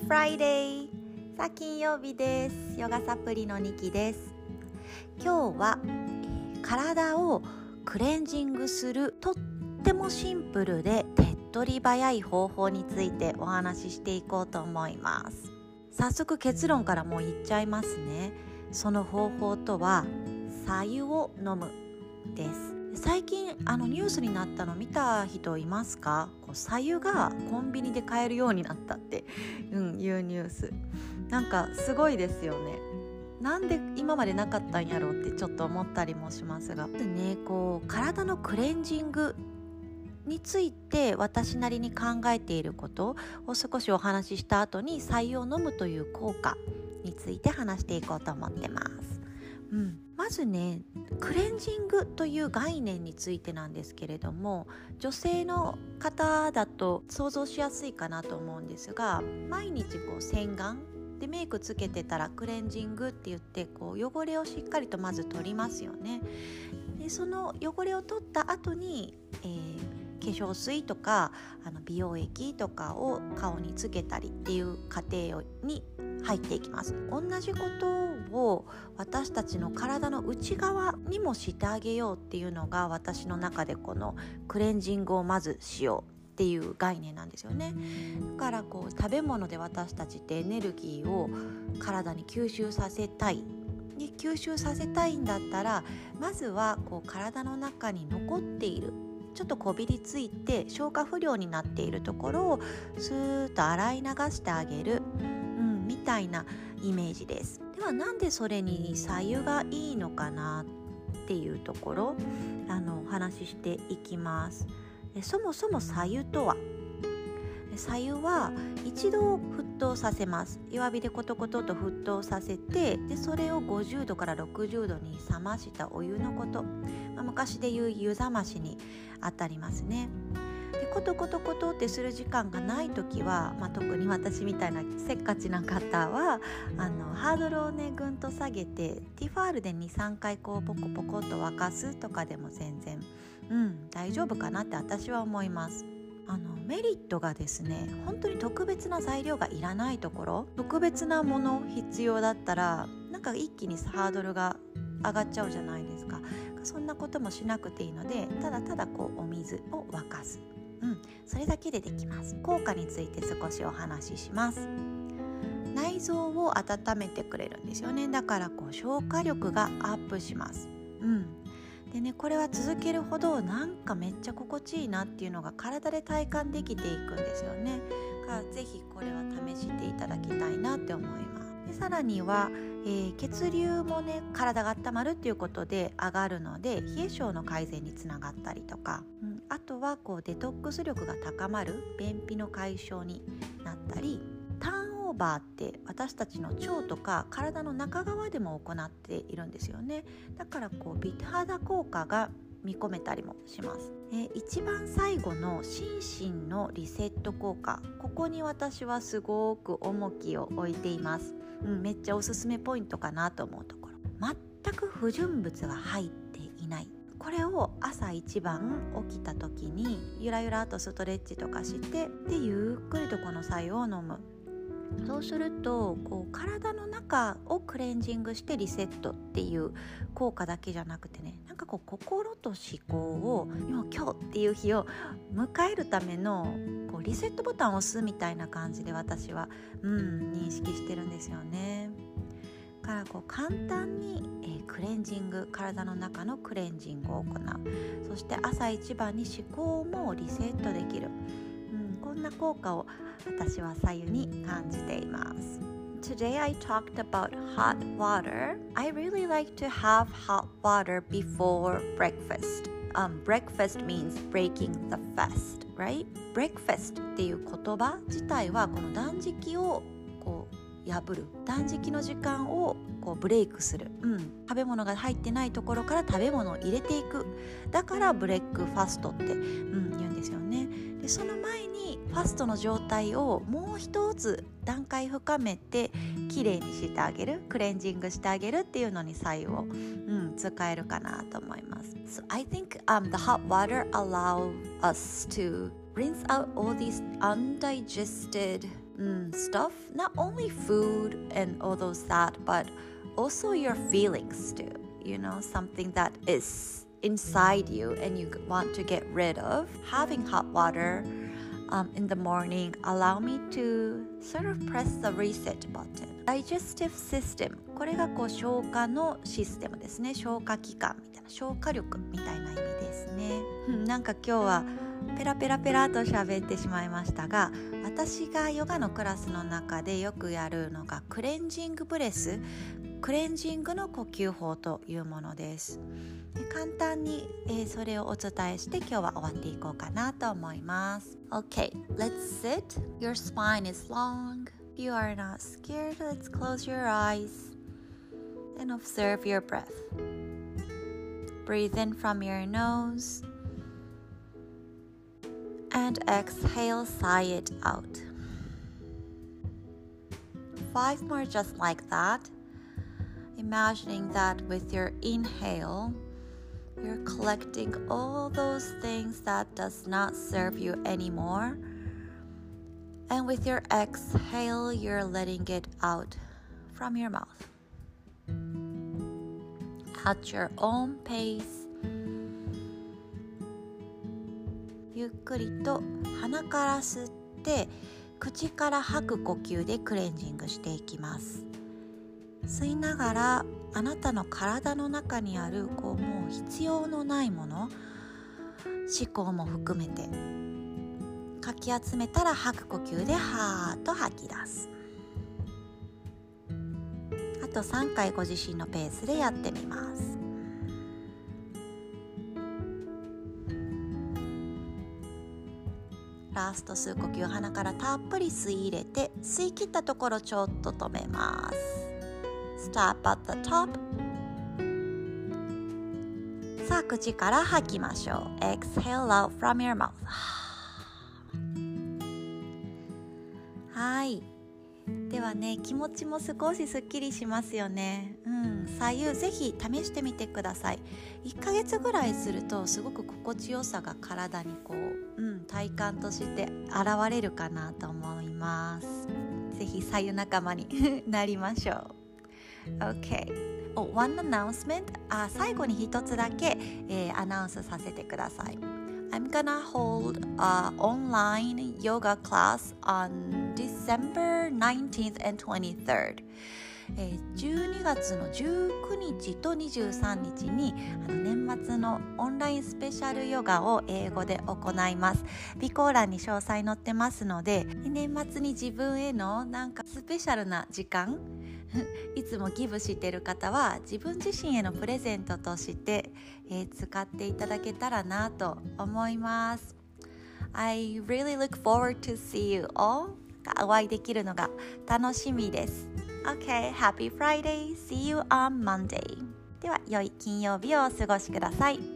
Friday! さあ金曜日です。ヨガサプリのニキです。今日は、体をクレンジングするとってもシンプルで手っ取り早い方法についてお話ししていこうと思います。早速結論からもう言っちゃいますね。その方法とは白湯を飲むです。最近ニュースになったの見た人いますか？白湯がコンビニで買えるようになったって、いうニュース。なんかすごいですよね。なんで今までなかったんやろうってちょっと思ったりもしますが、体のクレンジングについて私なりに考えていることを少しお話しした後に白湯を飲むという効果について話していこうと思ってます。まずね、クレンジングという概念についてなんですけれども、女性の方だと想像しやすいかなと思うんですが、毎日洗顔でメイクつけてたらクレンジングって言って汚れをしっかりとまず取りますよね。でその汚れを取った後に、化粧水とか美容液とかを顔につけたりっていう過程に入っていきます。同じことを私たちの体の内側にもしてあげようっていうのが、私の中でこのクレンジングをまずしようっていう概念なんですよね。だから食べ物で私たちってエネルギーを体に吸収させたい。で吸収させたいんだったら、まずは体の中に残っている、ちょっとこびりついて消化不良になっているところをスーッと洗い流してあげる、みたいなイメージです。ではなんでそれに白湯がいいのかなっていうところお話ししていきます。そもそも白湯とは、白湯は一度沸騰させます。弱火でコトコトと沸騰させて、でそれを50度から60度に冷ましたお湯のこと、昔でいう湯冷ましにあたりますね。でコトコトコトってする時間がないときは、特に私みたいなせっかちな方はハードルをねぐんと下げて、ティファールで 2,3 回ポコポコと沸かすとかでも全然、大丈夫かなって私は思います。メリットがですね、本当に特別な材料がいらないところ、特別なもの必要だったら一気にハードルが上がっちゃうじゃないですか。そんなこともしなくていいので、ただただお水を沸かす、それだけでできます。効果について少しお話しします。内臓を温めてくれるんですよね。だから消化力がアップします。でね、これは続けるほどめっちゃ心地いいなっていうのが体で体感できていくんですよね。だからぜひこれは試していただきたいなって思います。でさらには、血流もね体が温まるっていうことで上がるので、冷え性の改善につながったりとか、あとはデトックス力が高まる便秘の解消になったり、ターンオーバーって私たちの腸とか体の中側でも行っているんですよね。だから美肌効果が見込めたりもします。一番最後の心身のリセット効果、ここに私はすごく重きを置いています。めっちゃおすすめポイントかなと思うところ、全く不純物が入っていない。これを朝一番起きた時にゆらゆらとストレッチとかして、でゆっくりとこの白湯を飲む。そうすると体の中をクレンジングしてリセットっていう効果だけじゃなくてね、心と思考を今日っていう日を迎えるためのリセットボタンを押すみたいな感じで私は、認識してるんですよね。から簡単に、クレンジング、体の中のクレンジングを行う。そして朝一番に思考もリセットできる、こんな効果を私は白湯に感じています。Today I talked about hot water. I really like to have hot water before breakfast. Breakfast means breaking the fast, right? Breakfast っていう言葉自体はこの断食を破る、断食の時間をブレイクする、食べ物が入ってないところから食べ物を入れていく。だからブレックファストって、言うんですよね。でその前にファストの状態をもう一つ段階深めてきれいにしてあげる、クレンジングしてあげるっていうのに白湯を、使えるかなと思います。So I think the hot water allow us to rinse out all these undigested stuff, not only food and all those that, but also your feelings too. You know, something that is inside you and you want to get rid of. Having hot water in the morning allow me to sort of press the reset button.Digestive system これが消化のシステムですね。消化器官みたいな、消化力みたいな意味ですね。なんか今日はペラペラと喋ってしまいましたが、私がヨガのクラスの中でよくやるのがクレンジングブレス、クレンジングの呼吸法というものです。簡単に、それをお伝えして今日は終わっていこうかなと思います。Okay, let's sit. Your spine is long.If you are not scared, let's close your eyes and observe your breath. Breathe in from your nose and exhale, sigh it out. 5 more just like that. Imagining that with your inhale, you're collecting all those things that does not serve you anymore.And with your exhale, you're letting it out from your mouth. At your own pace. ゆっくりと鼻から吸って口から吐く呼吸でクレンジングしていきます。吸いながらあなたの体の中にあるもう必要のないもの、思考も含めてかき集めたら吐く呼吸ではーっと吐き出す。あと3回ご自身のペースでやってみます。ラスト吸う呼吸、鼻からたっぷり吸い入れて、吸い切ったところちょっと止めます。 Stop at the top。 さあ口から吐きましょう。 Exhale out from your mouth。はい、ではね、気持ちも少しすっきりしますよね。左右ぜひ試してみてください。1ヶ月ぐらいするとすごく心地よさが体に体感として現れるかなと思います。ぜひ左右仲間になりましょう。 OK、one announcement、最後に一つだけ、アナウンスさせてください。I'm gonna hold an online yoga class on December 19th and 23rd. 12月の19日と23日に年末のオンラインスペシャルヨガを英語で行います。備考欄に詳細載ってますので、年末に自分へのスペシャルな時間いつもギブしている方は自分自身へのプレゼントとして、使っていただけたらなと思います。 I really look forward to see you all. お会いできるのが楽しみです。 Okay, happy Friday. See you on Monday. では良い金曜日をお過ごしください。